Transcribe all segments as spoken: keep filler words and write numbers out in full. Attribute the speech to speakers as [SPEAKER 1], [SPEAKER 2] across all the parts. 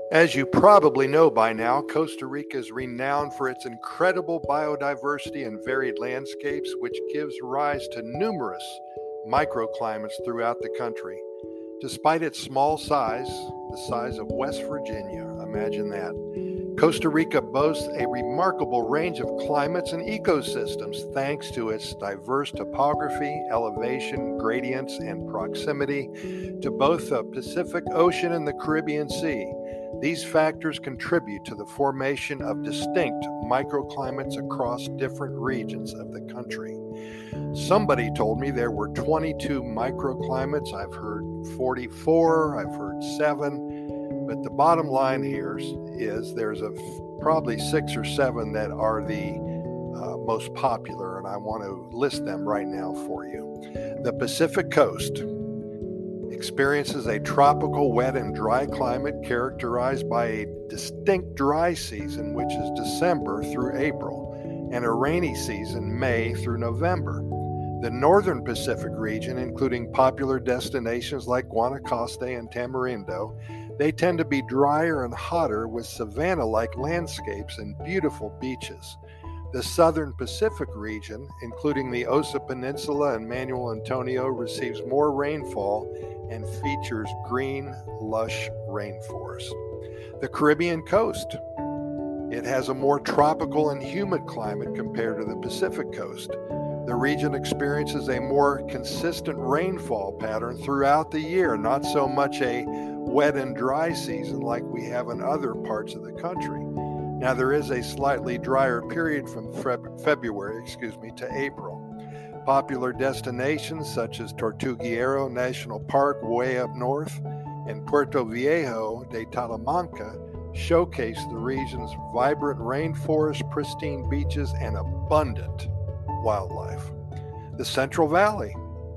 [SPEAKER 1] As you probably know by now, Costa Rica is renowned for its incredible biodiversity and varied landscapes, which gives rise to numerous microclimates throughout the country. Despite its small size, the size of West Virginia, imagine that, Costa Rica boasts a remarkable range of climates and ecosystems thanks to its diverse topography, elevation, gradients, and proximity to both the Pacific Ocean and the Caribbean Sea. These factors contribute to the formation of distinct microclimates across different regions of the country. Somebody told me there were twenty-two microclimates. I've heard forty-four, I've heard seven, but the bottom line here is there's a probably six or seven that are the uh, most popular, and I want to list them right now for you. The Pacific Coast experiences a tropical, wet, and dry climate characterized by a distinct dry season, which is December through April, and a rainy season, May through November. The northern Pacific region, including popular destinations like Guanacaste and Tamarindo, they tend to be drier and hotter with savanna-like landscapes and beautiful beaches. The southern Pacific region, including the Osa Peninsula and Manuel Antonio, receives more rainfall and features green, lush rainforests. The Caribbean coast, it has a more tropical and humid climate compared to the Pacific coast. The region experiences a more consistent rainfall pattern throughout the year, not so much a wet and dry season like we have in other parts of the country. Now, there is a slightly drier period from February, excuse me, to April. Popular destinations such as Tortuguero National Park way up north and Puerto Viejo de Talamanca showcase the region's vibrant rainforest, pristine beaches, and abundant wildlife. The Central Valley,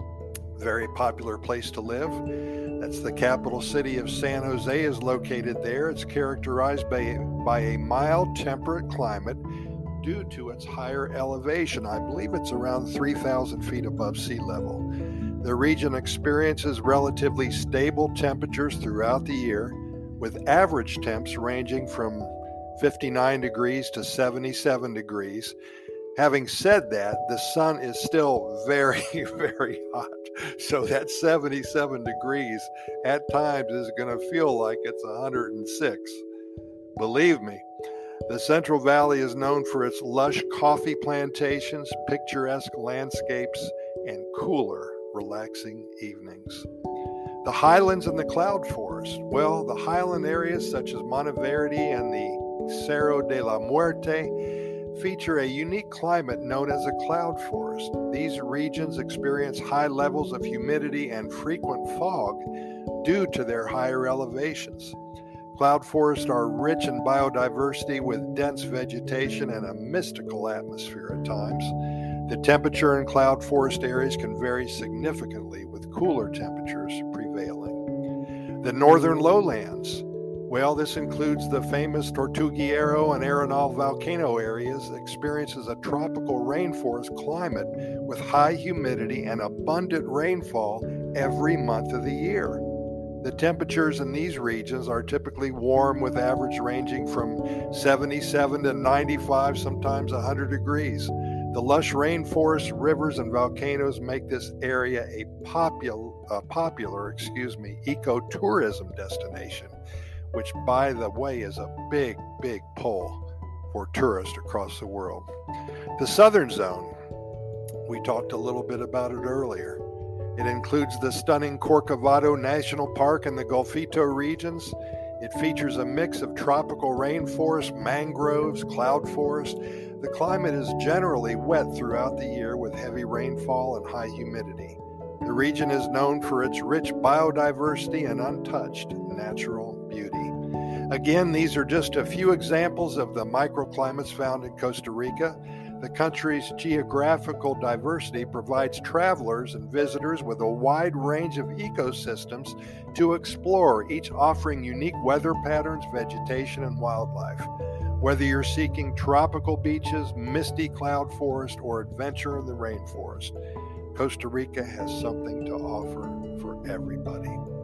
[SPEAKER 1] very popular place to live. That's the capital city of San Jose is located there. It's characterized by, by a mild temperate climate due to its higher elevation. I believe it's around three thousand feet above sea level. The region experiences relatively stable temperatures throughout the year, with average temps ranging from fifty-nine degrees to seventy-seven degrees. Having said that, the sun is still very, very hot. So that seventy-seven degrees at times is going to feel like it's one hundred six. Believe me. The Central Valley is known for its lush coffee plantations, picturesque landscapes, and cooler, relaxing evenings. The highlands and the cloud forest. Well, the highland areas such as Monteverde and the Cerro de la Muerte feature a unique climate known as a cloud forest. These regions experience high levels of humidity and frequent fog due to their higher elevations. Cloud forests are rich in biodiversity with dense vegetation and a mystical atmosphere at times. The temperature in cloud forest areas can vary significantly with cooler temperatures prevailing. The northern lowlands. Well, this includes the famous Tortuguero and Arenal volcano areas, experiences a tropical rainforest climate with high humidity and abundant rainfall every month of the year. The temperatures in these regions are typically warm, with average ranging from seventy-seven to ninety-five, sometimes one hundred degrees. The lush rainforests, rivers, and volcanoes make this area a popular, uh, popular, excuse me, ecotourism destination, which, by the way, is a big, big pull for tourists across the world. The southern zone, we talked a little bit about it earlier. It includes the stunning Corcovado National Park and the Golfito regions. It features a mix of tropical rainforest, mangroves, cloud forest. The climate is generally wet throughout the year with heavy rainfall and high humidity. The region is known for its rich biodiversity and untouched natural beauty. Again, these are just a few examples of the microclimates found in Costa Rica. The country's geographical diversity provides travelers and visitors with a wide range of ecosystems to explore, each offering unique weather patterns, vegetation, and wildlife. Whether you're seeking tropical beaches, misty cloud forest, or adventure in the rainforest, Costa Rica has something to offer for everybody.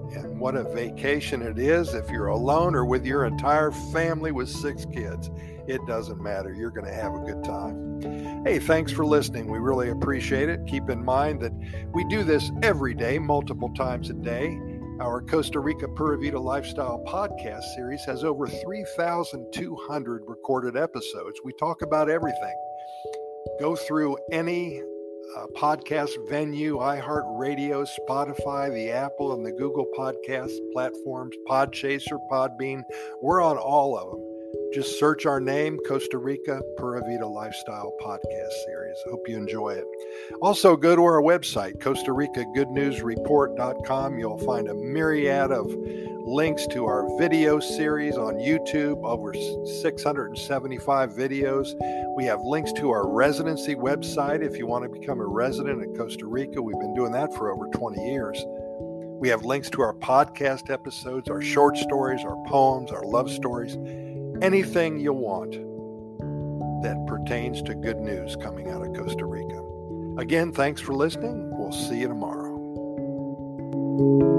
[SPEAKER 1] And what a vacation it is if you're alone or with your entire family with six kids. It doesn't matter. You're going to have a good time. Hey, thanks for listening. We really appreciate it. Keep in mind that we do this every day, multiple times a day. Our Costa Rica Pura Vida Lifestyle podcast series has over three thousand two hundred recorded episodes. We talk about everything. Go through any uh, podcast venue, iHeartRadio, Spotify, the Apple and the Google podcast platforms, Podchaser, Podbean. We're on all of them. Just search our name, Costa Rica Pura Vida Lifestyle Podcast Series. Hope you enjoy it. Also, go to our website, Costa Rica Good News Report dot com. You'll find a myriad of links to our video series on YouTube, over six hundred seventy-five videos. We have links to our residency website if you want to become a resident at Costa Rica. We've been doing that for over twenty years. We have links to our podcast episodes, our short stories, our poems, our love stories. Anything you want that pertains to good news coming out of Costa Rica. Again, thanks for listening. We'll see you tomorrow.